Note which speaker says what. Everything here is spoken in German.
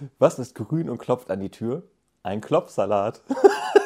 Speaker 1: Was ist grün und klopft an die Tür? Ein Klopfsalat.